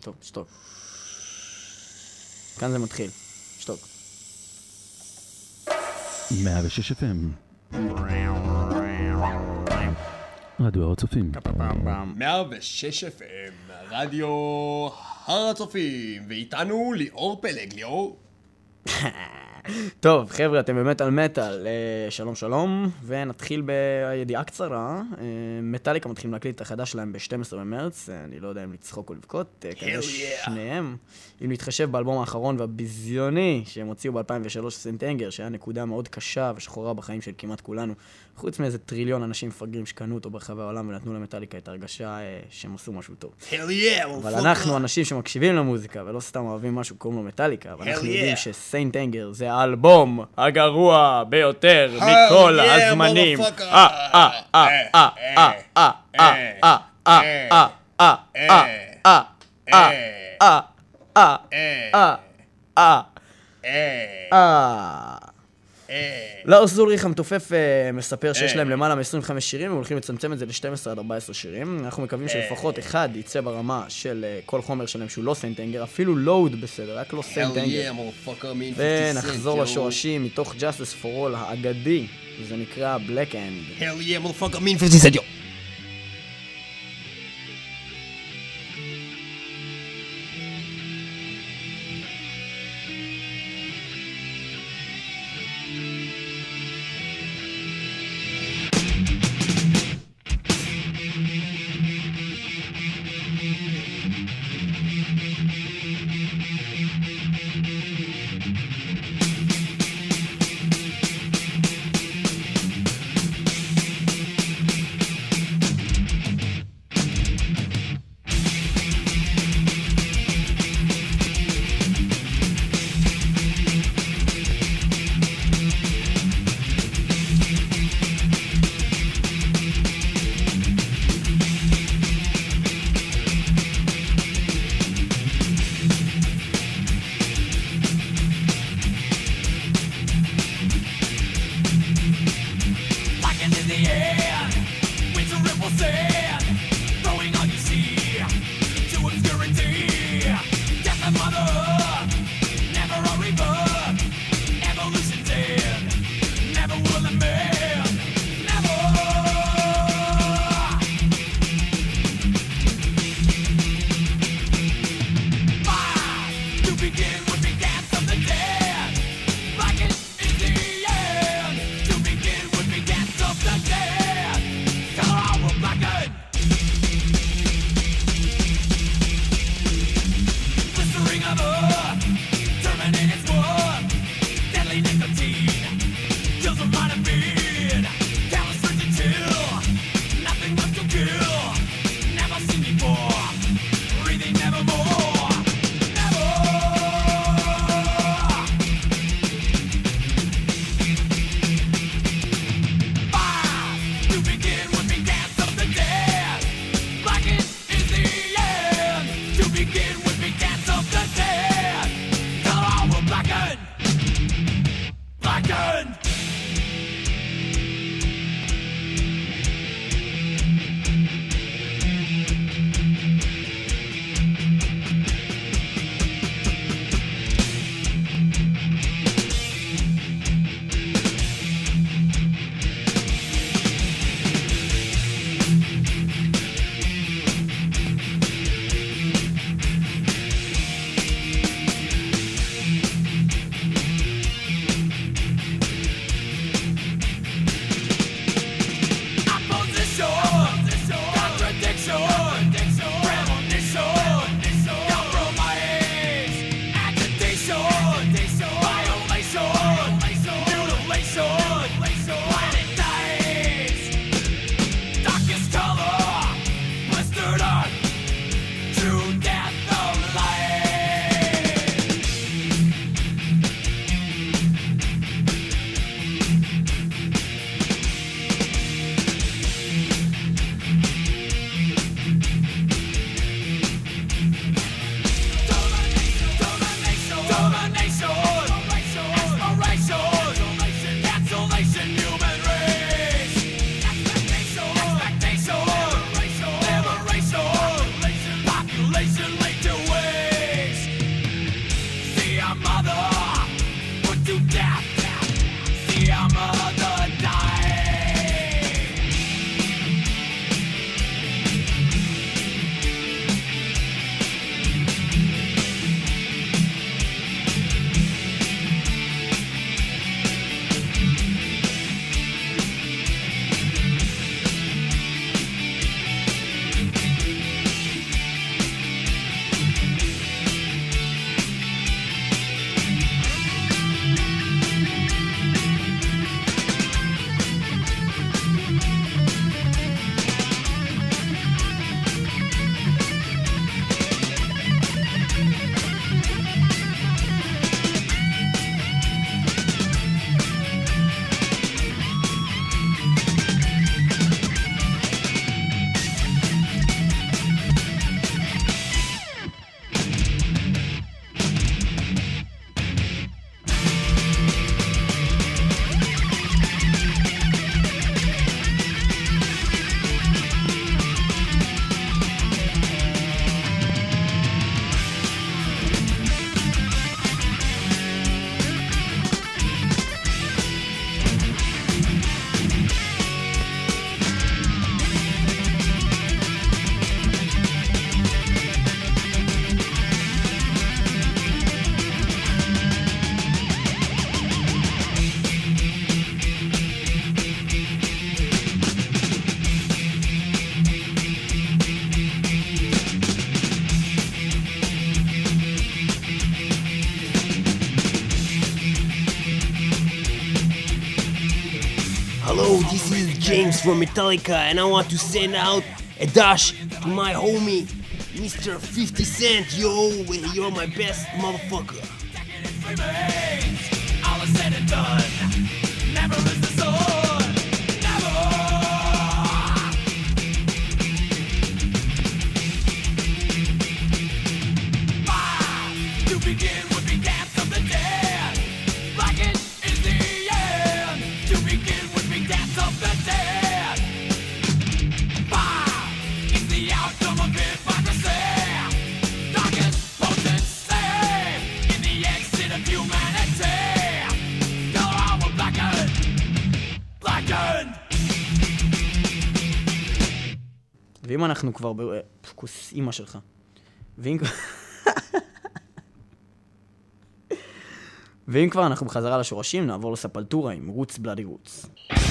טוב, שתוק. כאן זה מתחיל. שתוק. 106 FM. רדיו הר הצופים. 106 FM, רדיו הר הצופים, ואיתנו ליאור פלג. ליאור? טוב, חבר'ה, אתם באמת על מטל. שלום שלום, ונתחיל בידיעה קצרה. מטליקה מתחילים להקליט את החדש שלהם ב-12 במרץ, אני לא יודע אם לצחוק או לבכות, כזה שניהם. אם נתחשב באלבום האחרון והביזיוני שהם הוציאו ב-2003, סנט אנגר, שהיה נקודה מאוד קשה ושחורה בחיים של כמעט כולנו, חוץ מאיזה טריליון אנשים מפגרים שקנו אותו ברחבי העולם ונתנו למטליקה את הרגשה שהם עשו משהו טוב. אבל אנחנו אנשים שמקשיבים למוזיקה ולא סתם אוהבים משהו קוראים לו מטליקה, ואנחנו יודעים שסנט אנגר זה האלבום הגרוע ביותר מכל הזמנים. לארס אולריך המתופף מספר שיש להם למעלה מ-25 שירים, הם הולכים לצמצם את זה ל-12 עד 14 שירים. אנחנו מקווים שלפחות אחד יצא ברמה של כל חומר שלהם שהוא לא סנט אנגר, אפילו לואוד בסדר, רק לא סנט אנגר. ונחזור לשורשים מתוך Justice for All האגדי, וזה נקרא Black End. Hell yeah, motherfucker, mean 50 cent, yo. James from Metallica, and I want to send out a dash to my homie, Mr. 50 Cent. Yo, you're my best motherfucker. All is said and done. Never is the sword. Never. To begin would be dance of the dead. Blackened is the end. To begin would be dance of the dead. Fire is the outcome of hypocrisy. Darkest potency in the exit of humanity. Color armor blackened. Blackened. ואם אנחנו כבר כוס אימא שלך. ואם כבר אנחנו בחזרה לשורשים, נעבור לספלטורה עם רוץ בלאדי רוץ.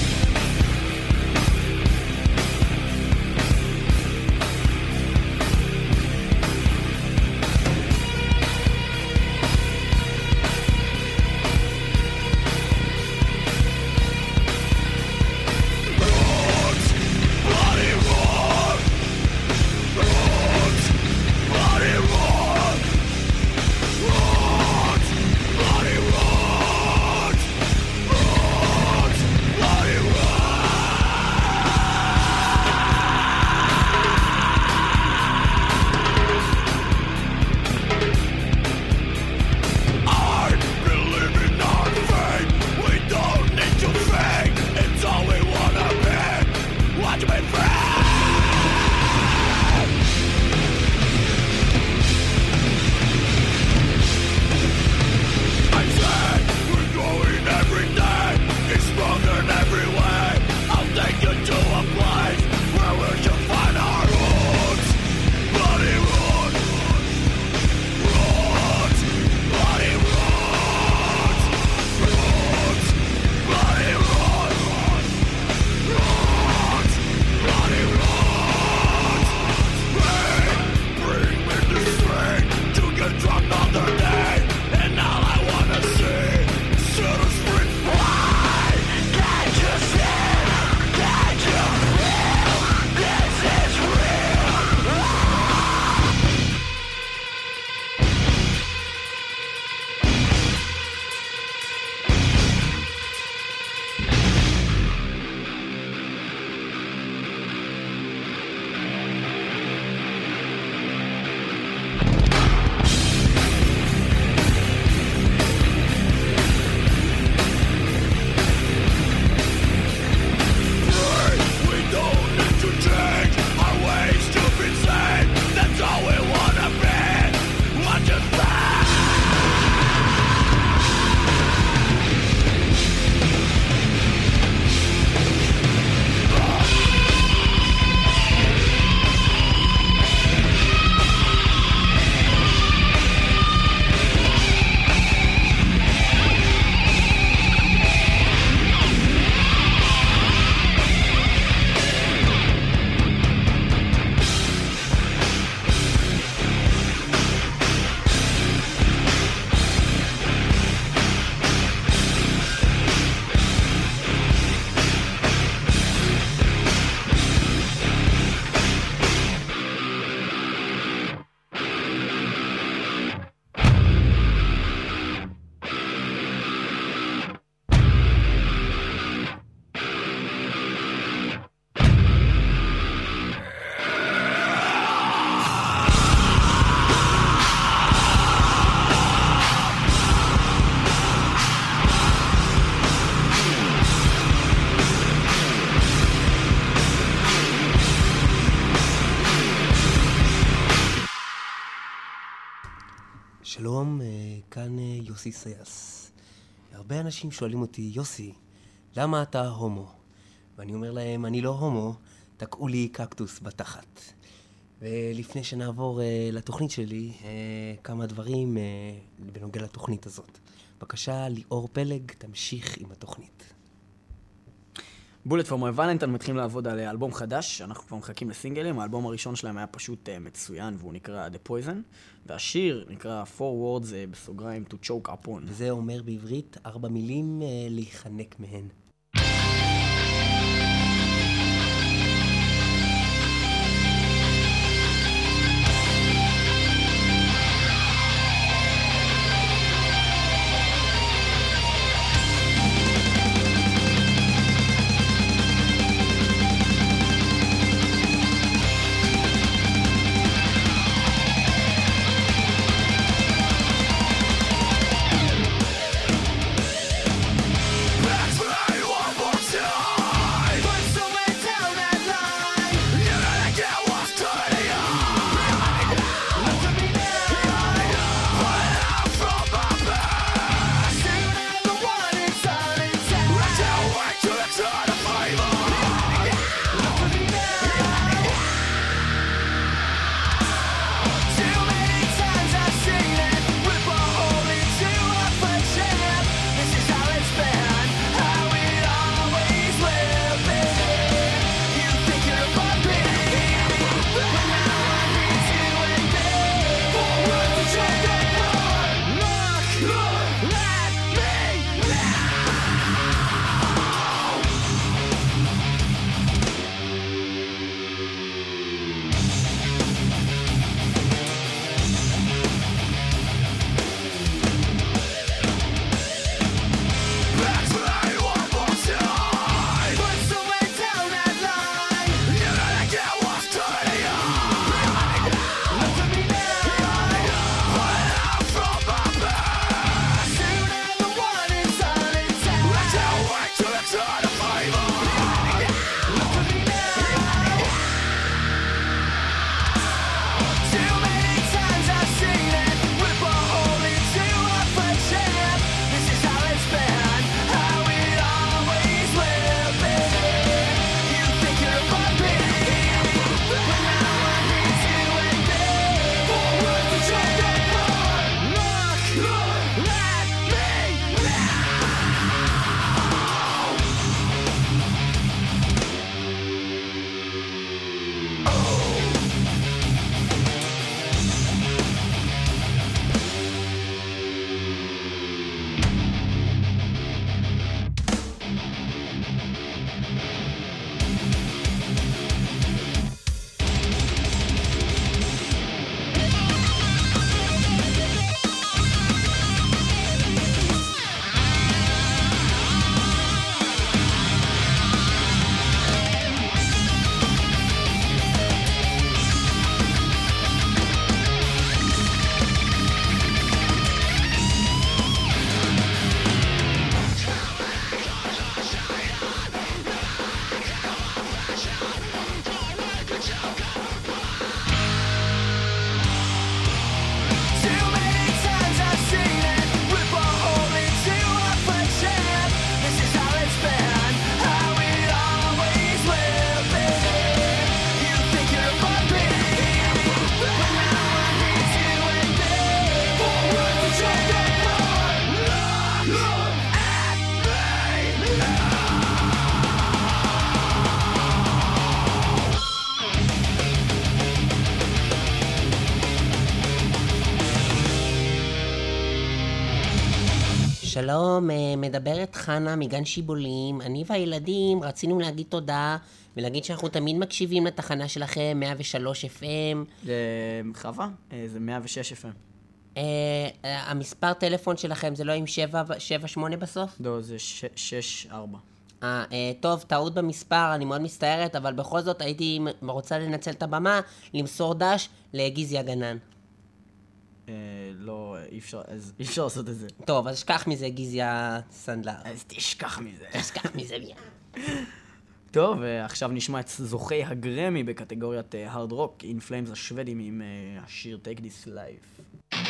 שלום, כאן יוסי סייס. הרבה אנשים שואלים אותי, יוסי, למה אתה הומו? ואני אומר להם, אני לא הומו, תקעו לי קקטוס בתחת. ולפני שנעבור לתוכנית שלי, כמה דברים בנוגע לתוכנית הזאת. בבקשה, ליאור פלג, תמשיך עם התוכנית. בולט פור מאי ולנטיין מתחילים לעבוד על אלבום חדש, אנחנו כבר מחכים לסינגלים, האלבום הראשון שלהם היה פשוט מצוין והוא נקרא The Poison, והשיר נקרא 4 Words בסוגריים To Choke Upon. וזה אומר בעברית 4 מילים להיחנק מהן. שלום, מדברת חנה מגן שיבולים. אני והילדים רצינו להגיד תודה ולהגיד שאנחנו תמיד מקשיבים לתחנה שלכם, 103 FM. חווה, זה 106 FM. המספר טלפון שלכם זה לא עם 7-8 בסוף? לא, זה 6-4. טוב, טעות במספר, אני מאוד מצטערת, אבל בכל זאת הייתי רוצה לנצל את הבמה, למסור דש לגיזי הגנן. לא, אי אפשר לעשות את זה. טוב, אז שכח מזה, גיזי הסנדלר. אז תשכח מזה. תשכח מזה מיד. טוב, עכשיו נשמע את זוכי הגרמי בקטגוריית הרד רוק, In Flames השוודים עם השיר Take This Life.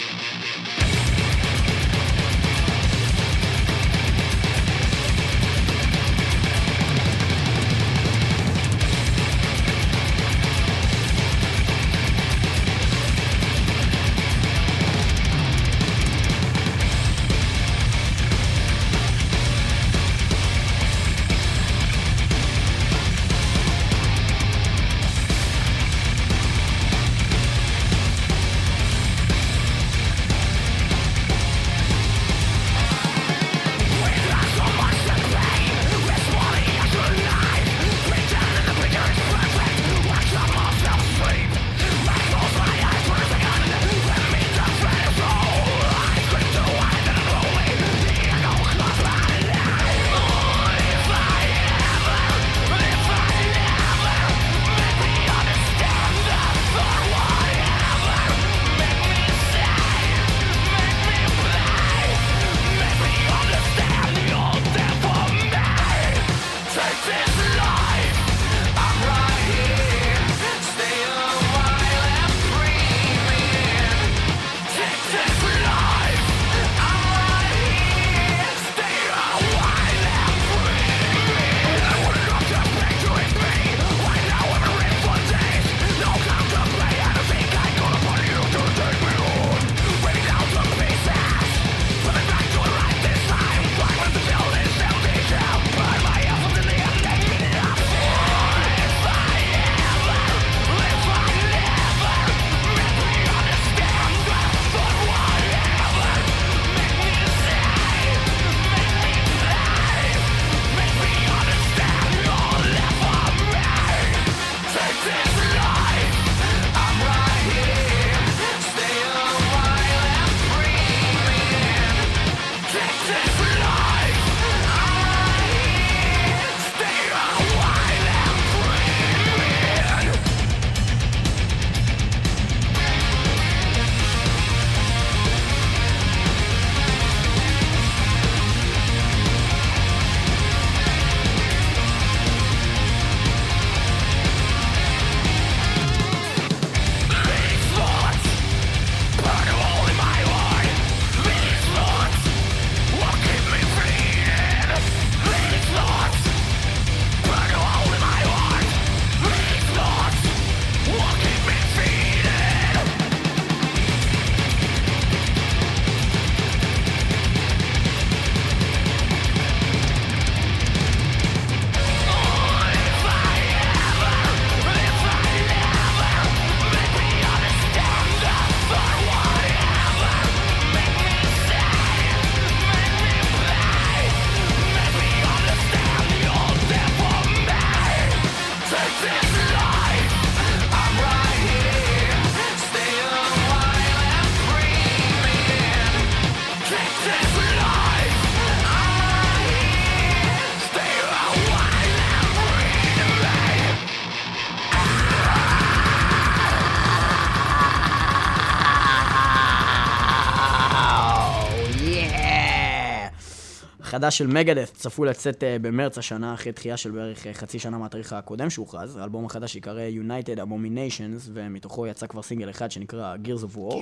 החדש של מגדף צפוי לצאת במרץ השנה, אחרי דחייה של בערך חצי שנה מהתאריך הקודם שהוכרז. האלבום החדש יקרא United Abominations, ומתוכו יצא כבר סינגל אחד שנקרא Gears of War,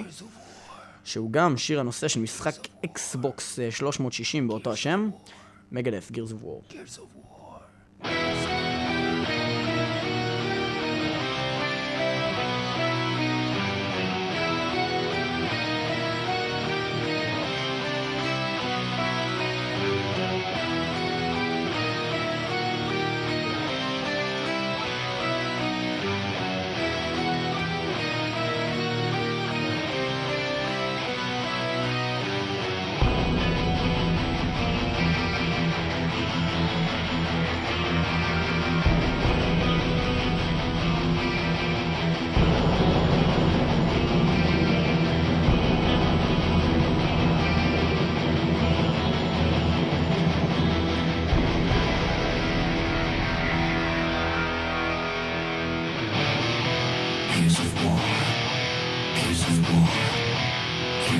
שהוא גם שיר הנושא של משחק אקסבוקס 360 באותו השם, מגדף, Gears of War. Gears of War.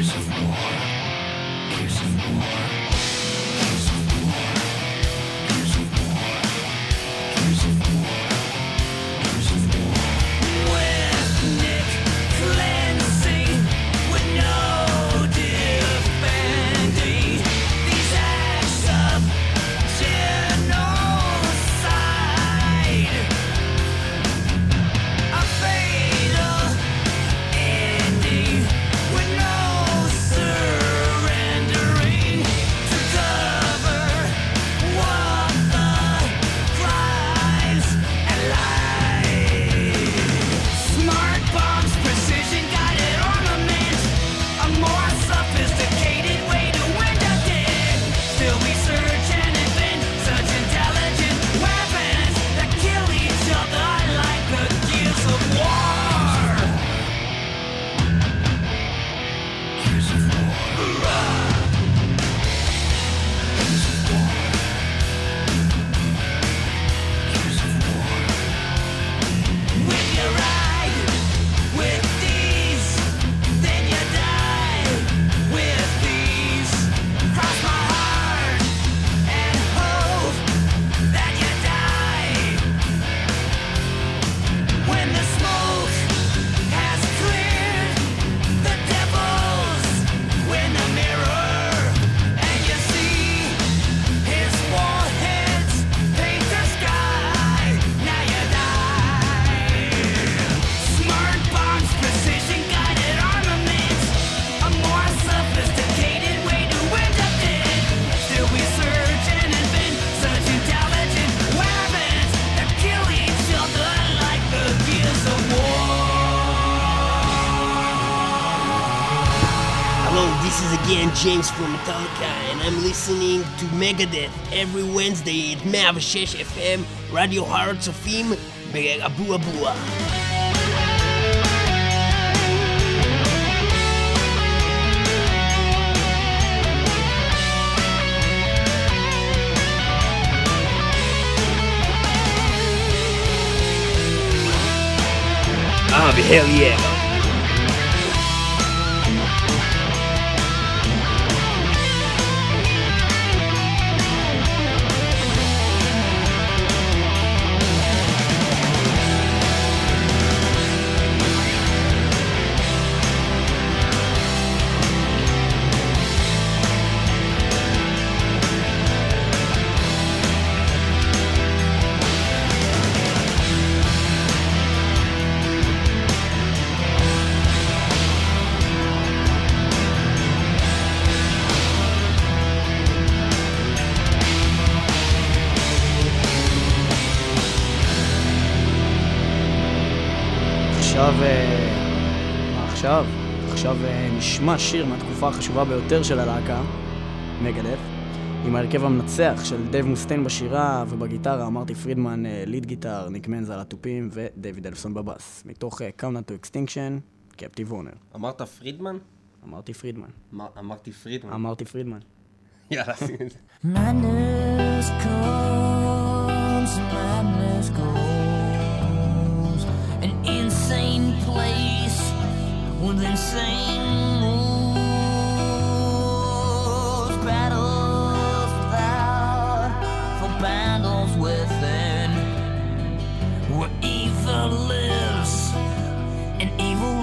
Again, James from Metallica, and I'm listening to Megadeth every Wednesday at 106 FM, רדיו הר הצופים באבו אבוה. hell yeah. עכשיו נשמע שיר מהתקופה החשובה ביותר של הלהקה, מגדף, עם ההרכב המנצח של דייב מוסטיין בשירה ובגיטרה, מרטי פרידמן ליד גיטר, ניק מנז על הטופים ודייוויד אלפסון בבאס, מתוך Countdown to Extinction, קפטיב וורנר. אמרת פרידמן? אמרתי פרידמן. אמרתי פרידמן. אמרתי פרידמן. יאללה, שים את זה. Madness comes, madness goes, an insane place with insane rules, battles without, for battles within, where evil lives and evil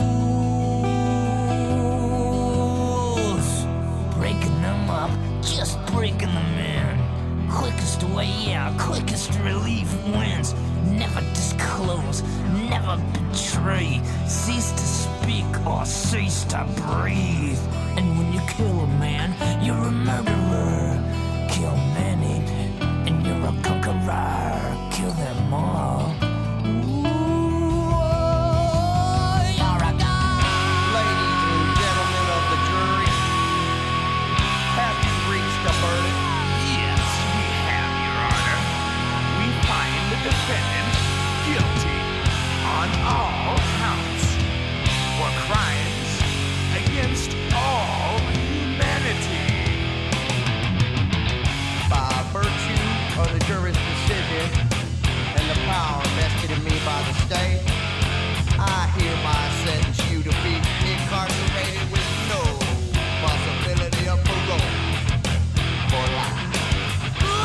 rules, breaking them up, just breaking them in. Quickest way out, quickest relief wins. Never disclose, never betray. Cease to speak or cease to breathe. And when you kill a man, you're a murderer. Kill many, and you're a conqueror. Kill them all. Defendant guilty on all counts for crimes against all humanity. By virtue of the jury's decision,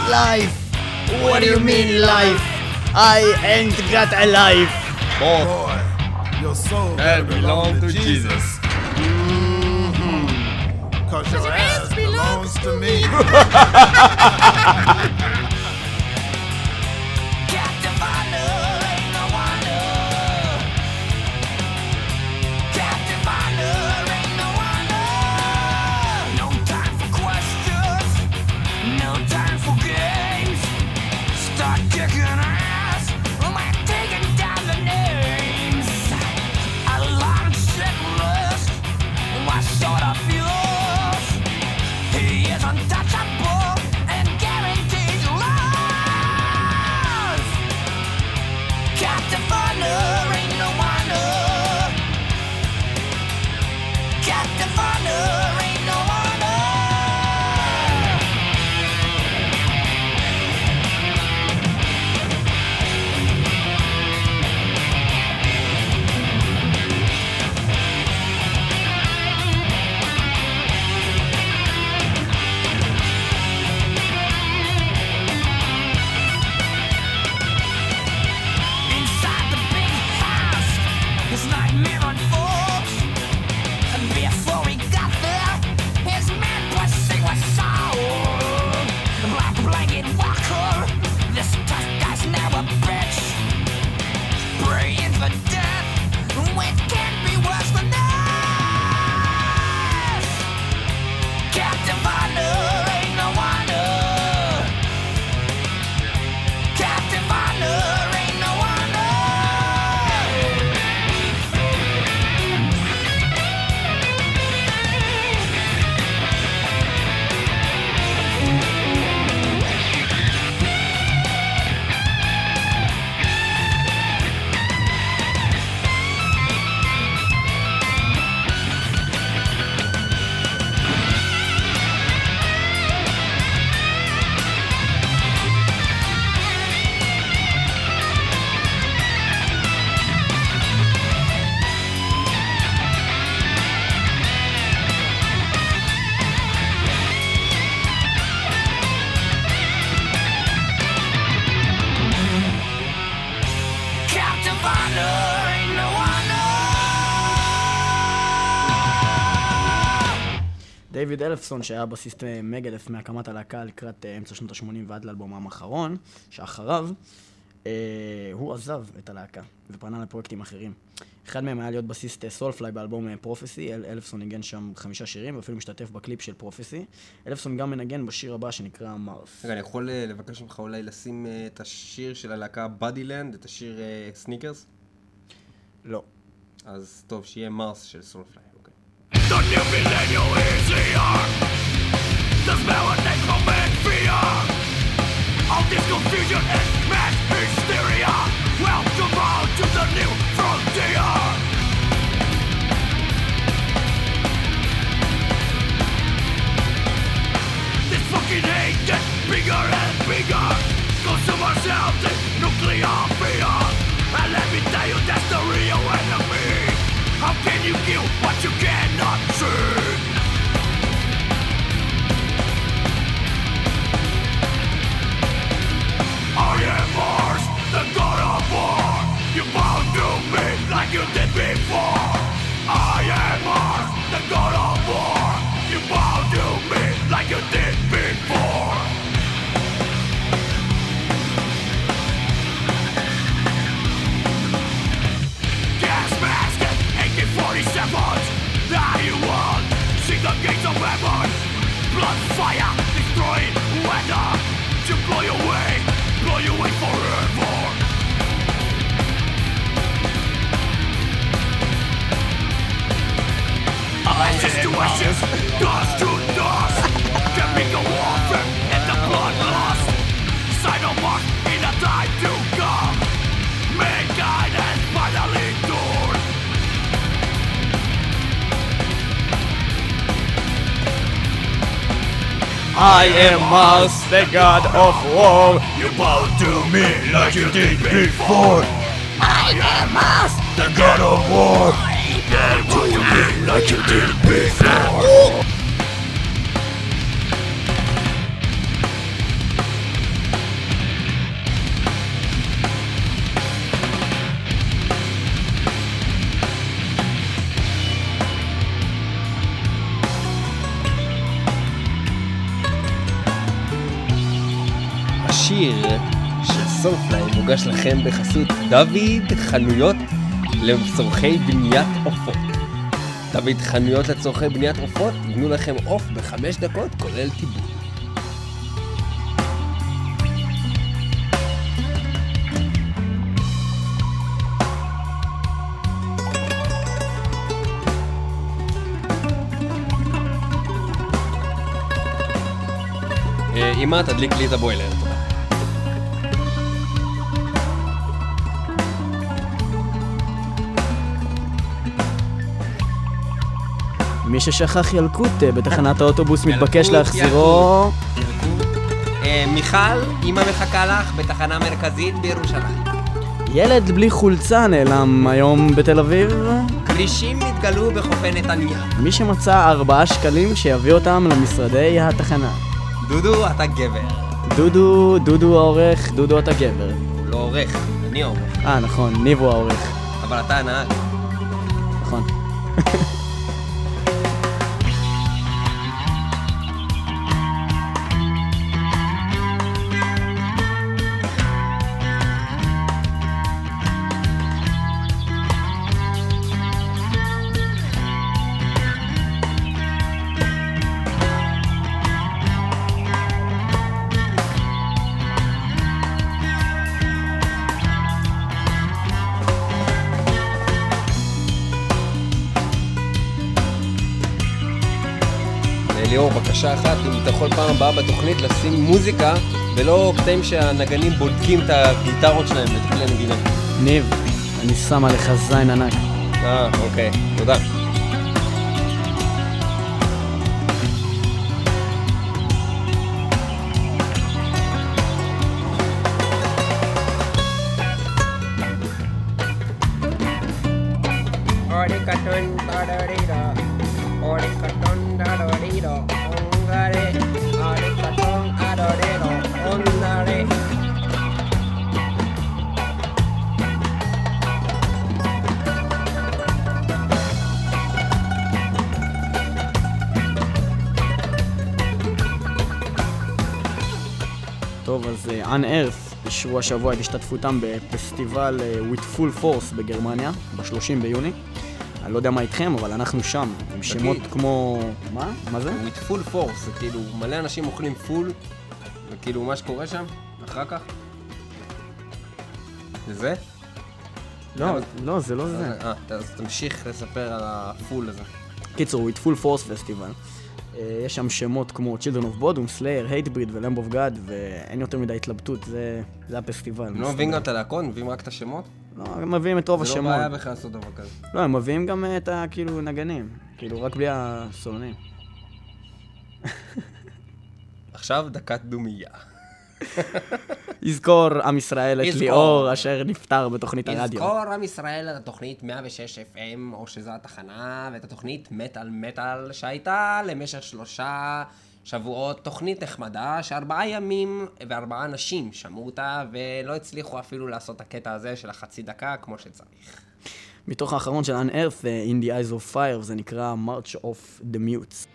life. What do you mean life? I ain't got a life. Boy, your soul That belong to Jesus. Cause your ass belongs to me. Captain Vinyl, ain't no wonder. Captain Vinyl, ain't no wonder. No time for questions, no time for games. Start kicking ass, we're taking down the names. A long set list, what sort of yours? He is untouchable and guaranteed life. Captain Vinyl, ain't no wonder. Captain Vinyl, ain't no wonder. Inside the big house, his nightmare unfolds. And before he got there, his man pussy was sold. Black blanket walker, this tough guy's now a bitch. Praying for death, it can't be worse than this. Captain Vinyl, ain't no wonder. Captain Vinyl, ain't no wonder. Captain Vinyl, ain't no wonder. דיוויד אלפסון, שהיה בסיסט מגדף מהקמת הלהקה לקראת אמצע שנות ה-80 ועד לאלבומם האחרון, שאחריו, הוא עזב את הלהקה ופנה לפרויקטים אחרים. אחד מהם היה להיות בסיסט סולפליי באלבום פרופסי. אלפסון ניגן שם 5 שירים ואפילו משתתף בקליפ של פרופסי. אלפסון גם מנגן בשיר הבא שנקרא מרס. רגע, אני יכול לבקש ממך אולי לשים את השיר של הלהקה בדילנד, את השיר סניקרס? לא. אז טוב, שיהיה מרס של סולפליי, אוקיי. The new millennial is here. The smell of necromantic fear. All this confusion and mass hysteria. Welcome all to the new frontier. This fucking hate gets bigger and bigger. Consume ourselves in nuclear fear. And let me tell you, that's the real enemy. How can you kill what you cannot see? I am Mars, the god of war. You bow to me like you did before. I am Mars, the god of war. You bow to me like you did before. Gas mask and AK-47s. Now you want see the gates of heaven. Blood, fire, destroying weather. To blow you away forever. Ashes to ashes, dust to dust. Chemical warfare and the bloodlust. Sign of mark in the time to come. Mankind has finally torn. I am Mars, the god of war. You bow to me like you did before. I am Mars, the god of war. Bow to me like you did before. השיר של סולפליי מוגש לכם בחסות דוד חנויות לצורכי בניית עופות. דוד חנויות לצורכי בניית עופות, יבנו לכם עוף ב5 דקות כולל טיבול. אמא, תדליק לי את הבוילר. מי ששכח ילקוט בתחנת האוטובוס מתבקש להחזירו. מיכל, אמא מחכה לך בתחנה מרכזית בירושלים. ילד בלי חולצה נעלם היום בתל אביב. כרישים נתגלו בחופי נתניה. מי שמצא 4 שקלים שיביא אותם למשרדי התחנה. דודו, אתה גבר. דודו העורך, דודו אתה גבר. הוא לא עורך, אני עורך. נכון, ניבו העורך. אבל אתה הנהג. נכון. ליאור, בקשה אחת, אם אתה יכול פעם הבאה בתוכנית לשים מוזיקה ולא קטעים שהנגנים בודקים את הגיטרות שלהם ואת כלי הנגינה. ניב, אני שם עליך זין ענק. אוקיי, תודה. טוב, אז Unearth אישרו השבוע את השתתפותם בפסטיבל With Full Force בגרמניה, ב-30 ביוני. אני לא יודע מה איתכם, אבל אנחנו שם, עם שמות כמו... מה זה? With Full Force, זה כאילו מלא אנשים אוכלים פול, וכאילו מה שקורה שם, אחר כך. זה? לא, זה לא זה. אז תמשיך לספר על הפול הזה. קיצור, With Full Force פסטיבל. יש שם שמות כמו Children of Bodom, Slayer, Hatebreed ו-Lamb of God, ואין יותר מדי התלבטות, זה הפסטיבל. הם לא מביאים גם את הלהקון, מביאים רק את השמות? לא, הם מביאים את רוב השמות. זה לא בעיה בכלל לעשות דבר כזה. לא, הם מביאים גם את כאילו נגנים, כאילו רק בלי הסולנים. עכשיו דקת דומייה. יזכור עם ישראל את ליאור אשר נפטר בתוכנית הרדיו. יזכור עם ישראל את התוכנית 106 FM, או שזו התחנה, ואת התוכנית מטל שהייתה למשך 3 שבועות, תוכנית נחמדה, ש4 ימים ו4 אנשים שמעו אותה, ולא הצליחו אפילו לעשות את הקטע הזה של החצי דקה כמו שצריך. מתוך האחרון של Unearth, In the Eyes of Fire, זה נקרא March of the Mutes.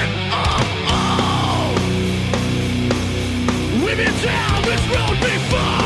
We've been down this road before.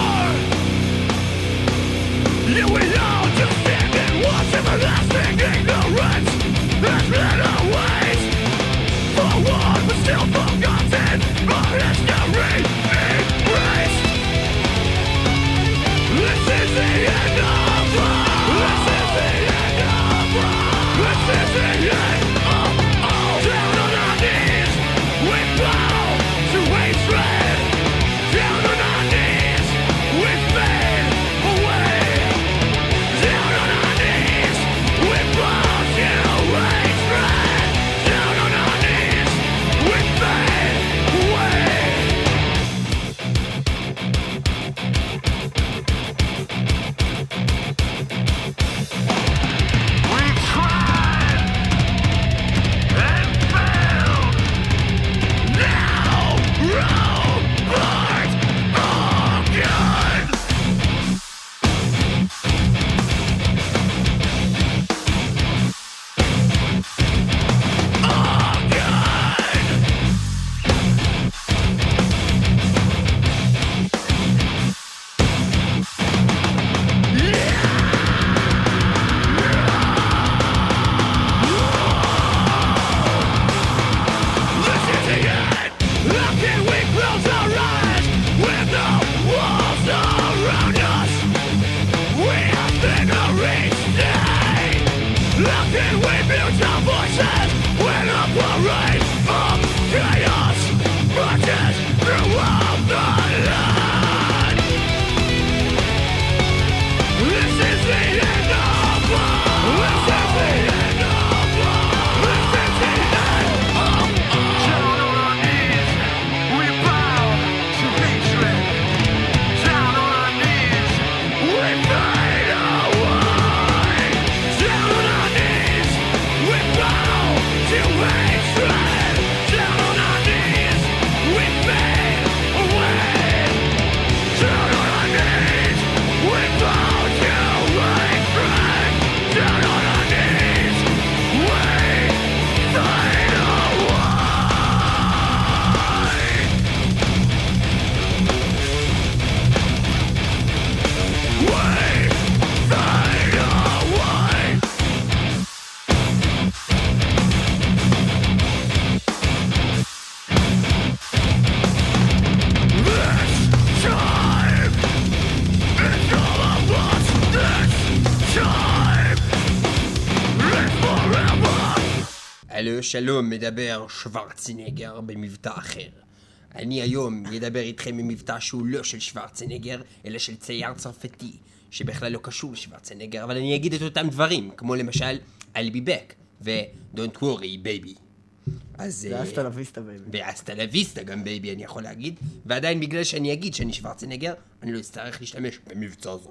שלום, מדבר שוורצנגר במבטא אחר. אני היום ידבר איתכם במבטא שהוא לא של שוורצנגר, אלא של צייר צרפתי, שבכלל לא קשור לשוורצנגר, אבל אני אגיד את אותם דברים, כמו למשל, I'll be back, ו-Don't worry, baby. אז... ואסטה לויסטה, בייבי. ואסטה לויסטה גם, בייבי, אני יכול להגיד, ועדיין בגלל שאני אגיד שאני שוורצנגר, אני לא אצטרך להשתמש במבצע הזה.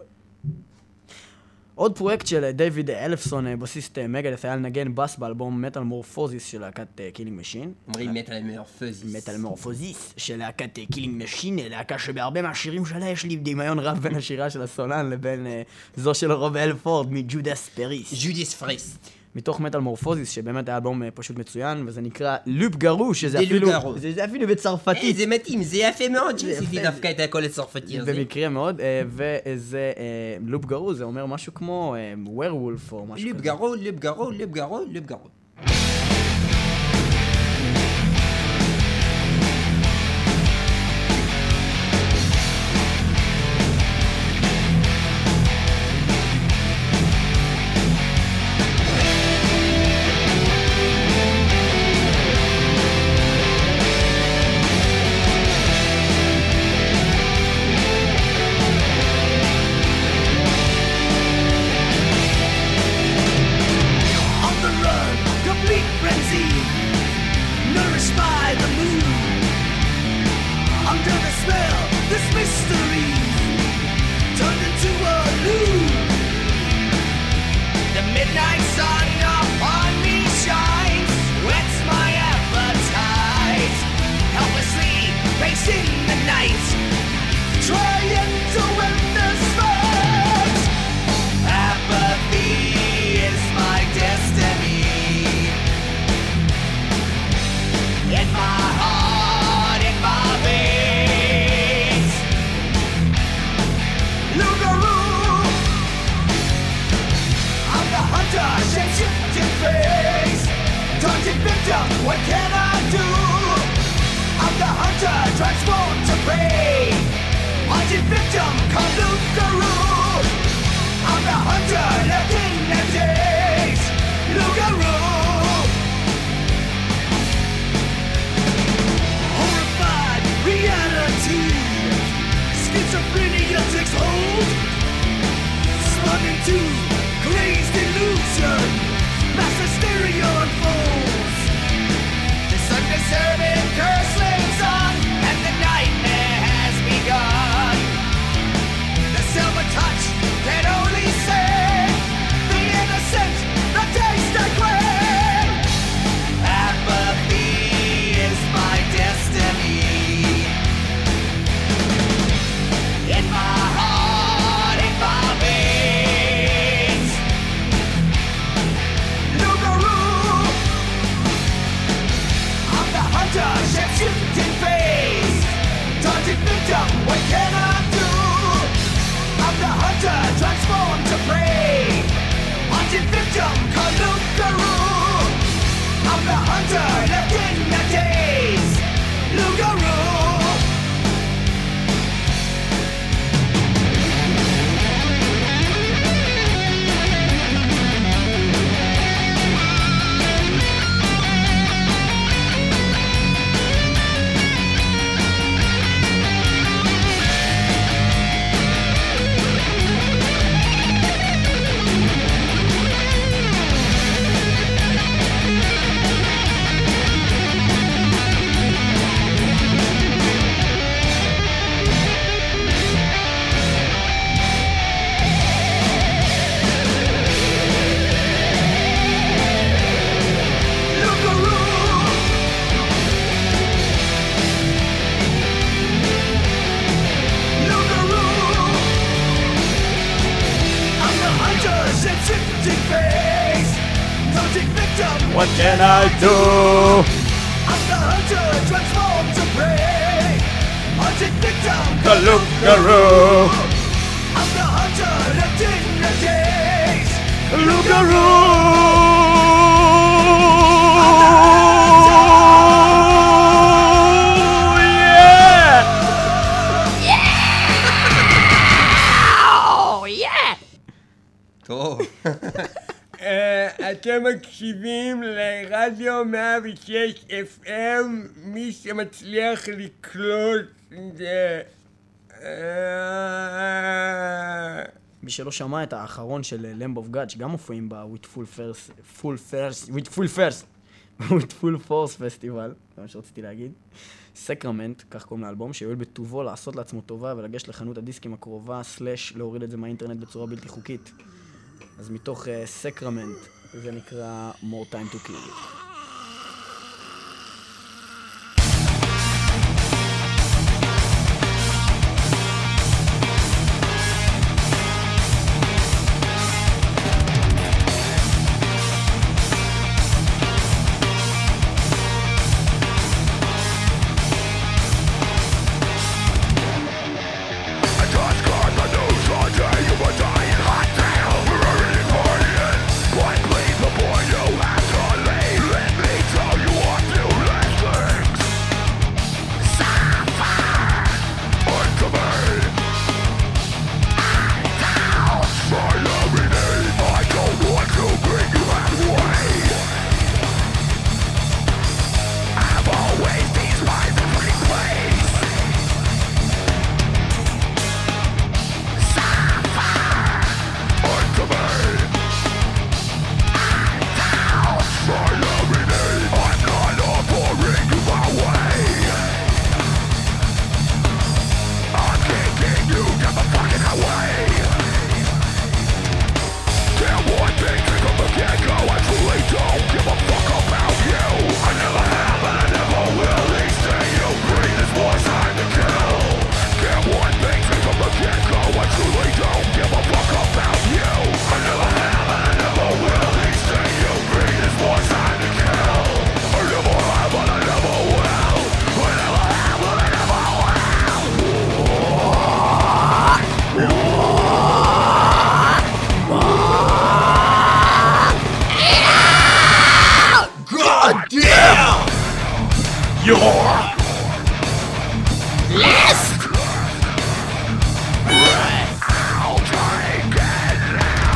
עוד פרויקט של דיוויד אלפסון, בסיסט מגדת', היה לנגן בס באלבום מטל מורפוזיס של להקת קילינג משין. אומרים מטל מורפוזיס. מטל מורפוזיס של להקת קילינג משין, להקה שבהרבה מהשירים שלה יש לי דמיון רב בין השירה של הסולן לבין זו של רוב אלפורד מג'ודס פריסט. ג'ודס פריסט. מתוך מטל מורפוזיס, שבאמת היה אלבום פשוט מצוין, וזה נקרא לופ גרוש, שזה אפילו בצרפתית. זה מתאים, זה יפה מאוד שעשיתי דווקא את הכל לצרפתי הזה. במקרה מאוד, וזה לופ גרוש, זה אומר משהו כמו ווירולף או משהו כזה. לופ גרוש. What can I do? I'm the hunter, transformed to prey. Haunted victim, called Luke Garou. the hunter left in the days. Lugaroo. Horrified reality. Schizophrenia takes hold. Spun into crazed illusion. Mass hysteria unfolds. This undeserving curse lives on, and the nightmare has begun. The silver touch can only save the innocent, the taste I crave. Apathy is my destiny. In my heart, in my veins. Lugaroo. I'm the hunter, shape-shifting face. Taunted victim, what can I do? I'm the hunter, transformed to prey. Haunted victim, Kalukaroo. I'm the hunter, left in the days. Lugaroo. What can I do? I'm the hunter, transformed to prey. Hunted victim, Kalukaroo. I'm the hunter, left in the days. Lugaroo. Yeah! טוב. אתם מקשיבים לרדיו 106 FM, מי שמצליח לקלוט זה... מי שלא שמע את האחרון של Lamb of God, שגם מופיעים בה with full force פסטיבל, זה מה שרציתי להגיד. סקרמנט, כך קוראים לאלבום, שיועיל בטובו לעשות לעצמו טובה ולגש לחנות הדיסקים הקרובה, / להוריד את זה מהאינטרנט בצורה בלתי חוקית. אז מתוך סקרמנט, זה נקרא More Time to Kill. List! Right. I'll take it now.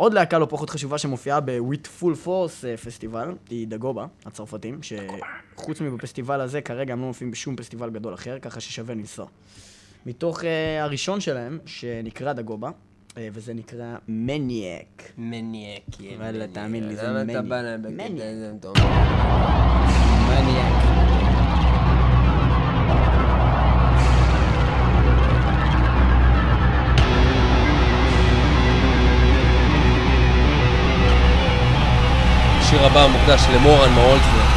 עוד להקה לא פחות חשובה שמופיעה ב-With Full Force פסטיבל, היא דגובה, הצרפתים, שחוץ מבפסטיבל הזה כרגע הם לא מופיעים בשום פסטיבל גדול אחר, ככה ששווה לנסוע. מתוך הראשון שלהם, שנקרא דגובה, וזה נקרא מניאק. מניאק, אבל תאמין לי, זה למה מניאק. אתה בא להם בקטע הזה? מניאק. השיר הבא מוקדש למורן מאולטפלד.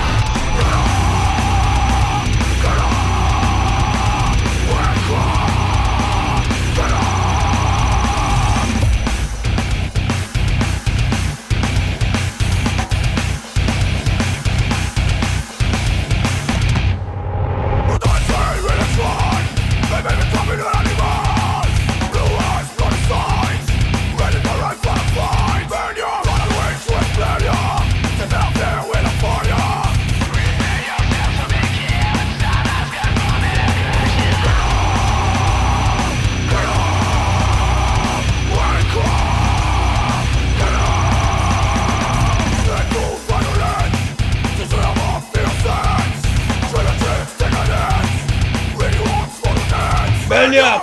Maniac!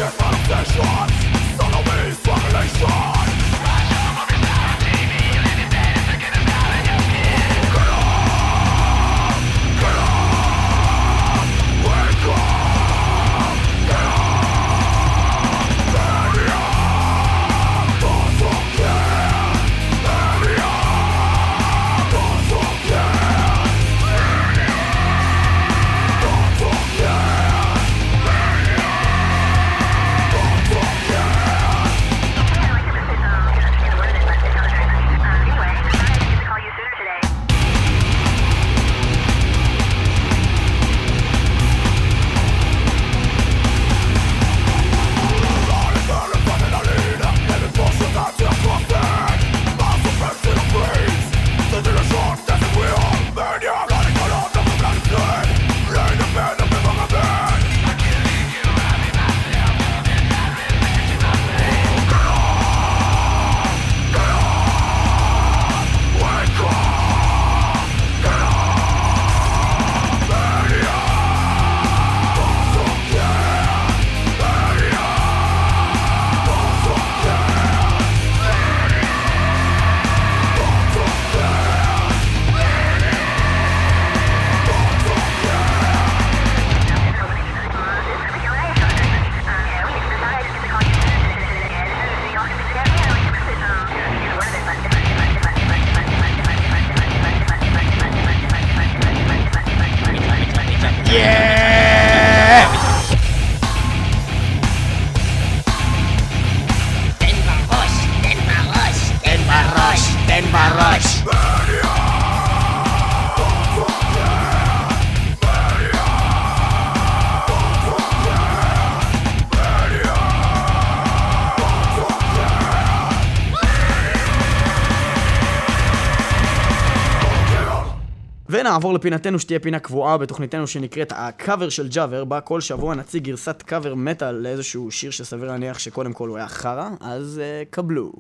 ונעבור לפינתנו שתהיה פינה קבועה בתוכניתנו שנקראת הקאבר של ג'אבר, בה כל שבוע נציג גרסת קאבר מטל לאיזשהו שיר שסביר להניח שקודם כל הוא היה חרה, אז קבלו.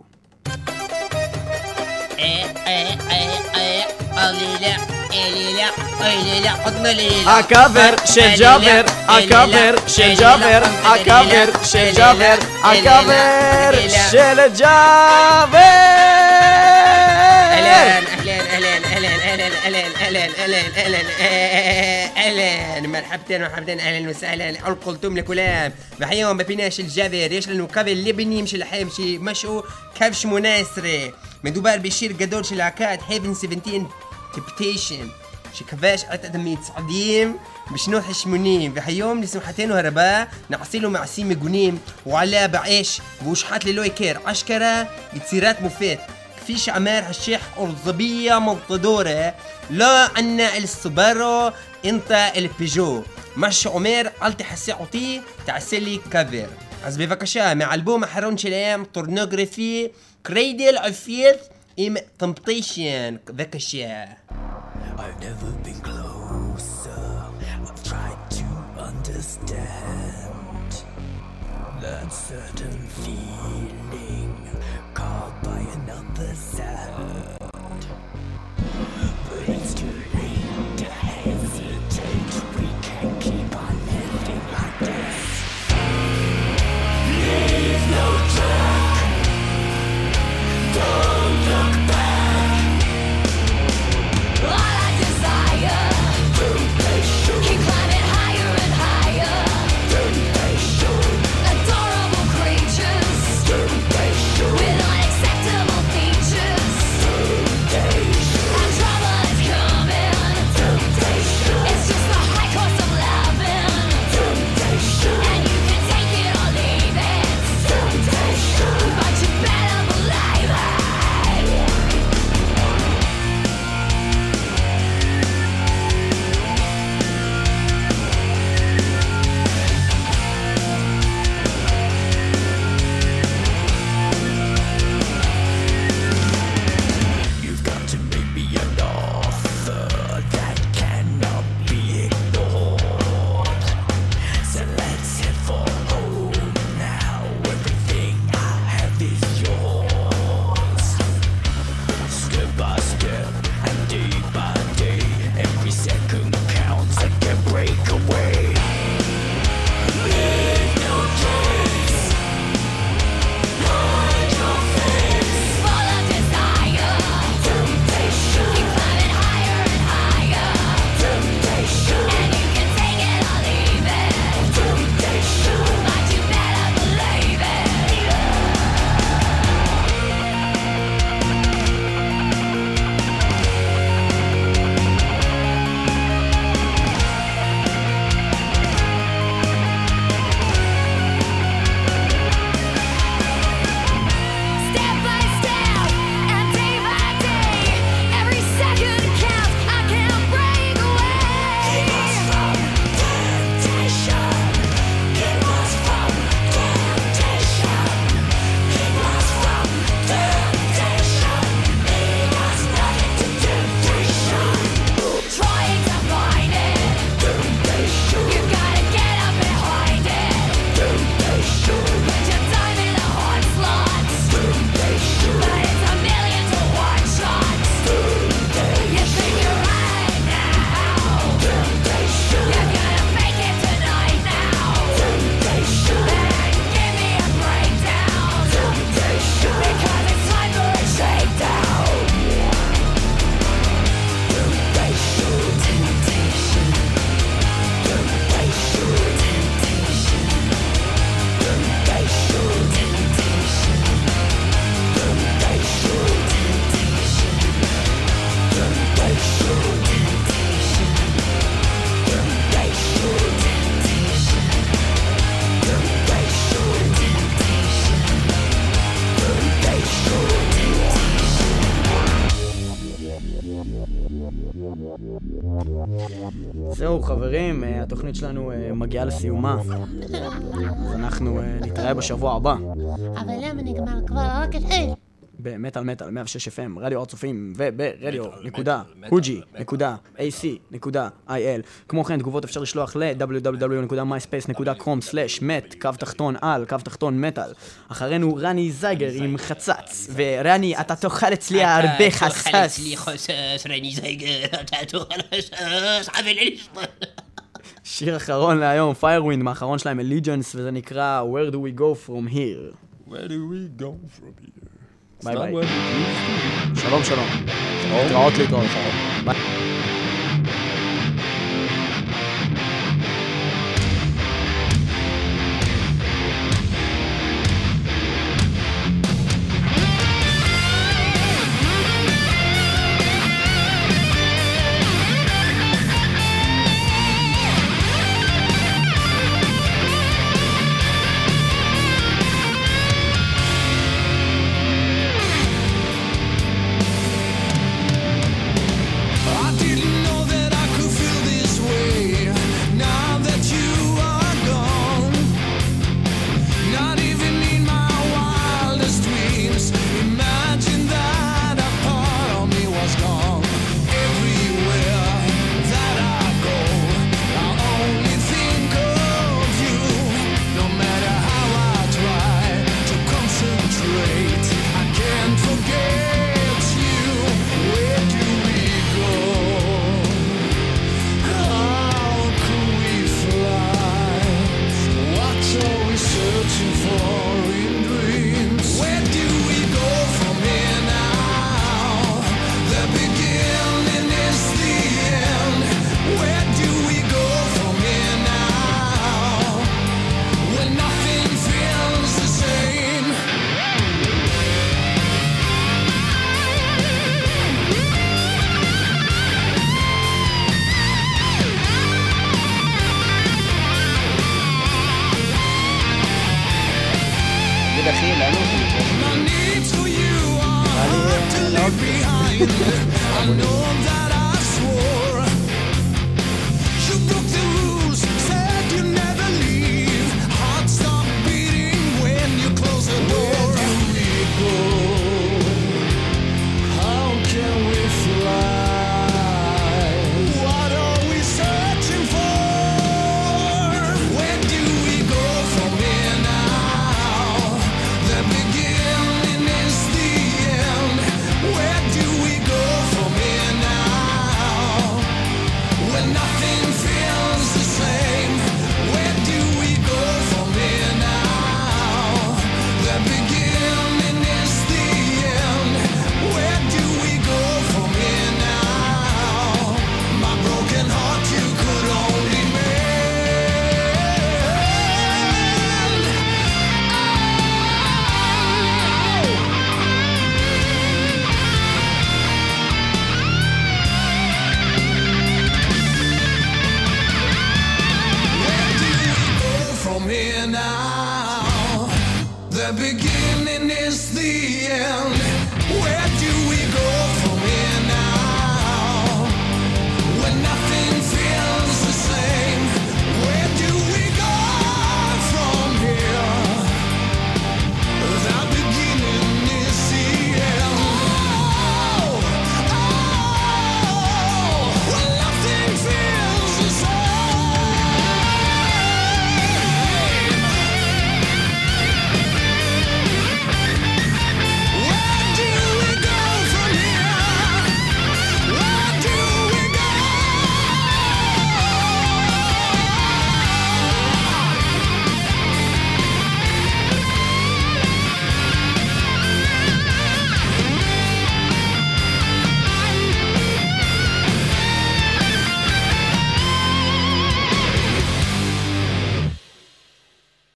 הקאבר של ג'אבר, הקאבר של ג'אבר, הקאבר של ג'אבר, הקאבר של ג'אבר. اهلا مرحبتين اهلا وسهلا القلتم لكلام بحيهم ببيناش الجابر يش لانه قبل لبني مش الحام شي مشو كفش مناسري مدوبار بشير قدور شي العكاد هيفن 17 تبتيشن شي كفاش عتدمي تصعديم بشنو حشمونيم بحيهم لسمحتين وهرباء نعصيلو معسيم قنيم وعلى بعيش بوشحات للوي كير عشكرة بتصيرات مفيد فيش عمار هالشيح أرضبية ملطدورة لا عنا السوبارو انت البيجو مش عمر قلت حسي عطي تعسلي كافر אז בבקשה מאלבום האחרון שלהם טורנוגרפי קריידל אפיית עם טמפטיישן בבקשה. I've never been closer. I've tried to understand that certain feeling caught by an not the sound. But it's too late to hesitate. We can't keep on living like this. Leave no track. Don't look back. All I desire. Keep climbing higher and higher. Adorable creatures with unacceptable features. And trouble is coming. It's just the high cost of loving. And you can take it or leave it. But you better believe it. You've got to make me an offer that cannot be ignored. So let's head for home now. Everything I have is yours. Step by step and day by day, every second counts. I can break away. Leave no trace. Hide your face. Full of desire. Temptation. Keep climbing higher and higher. Temptation. And you can take it or leave it. Temptation. But you better believe it. Step by step and day by day, every second counts. I can't break away. Keep us from temptation. Keep us from temptation. Keep us from temptation. Lead us not into temptation. Trying to find it. Temptation. You gotta get up behind it. Temptation. Put your time in the hard slots. Temptation. But it's a million to one shots. Temptation. You think you're right now. Temptation. You're gonna make it tonight now. Temptation. Then give me a breakdown. Temptation. Because it's time for a shakedown. Temptation. Temptation. Temptation. זהו חברים, התוכנית שלנו מגיעה לסיומה. אז אנחנו נתראה בשבוע הבא. אבל למה נגמר כבר רק התחיל? במטל מטל 106 FM, רדיו הר צופים וברדיו.huji.ac.il. כמו כן, תגובות אפשר לשלוח ל-www.myspace.com/met_al_metal. אחרינו רני זייגר עם חצץ. ורני, אתה תאכל אצלי הרבה חצץ. תאכל אצלי חצץ, רני זייגר, אתה תאכל חצץ, חבל לשמוע. שיר אחרון להיום, Firewind, מהאחרון שלהם, Allegiance, וזה נקרא Where do we go from here? Where do we go from here? ביי ביי. שלום שלום. להתראות. ביי. I did אחי, לאן הוא The beginning is the end.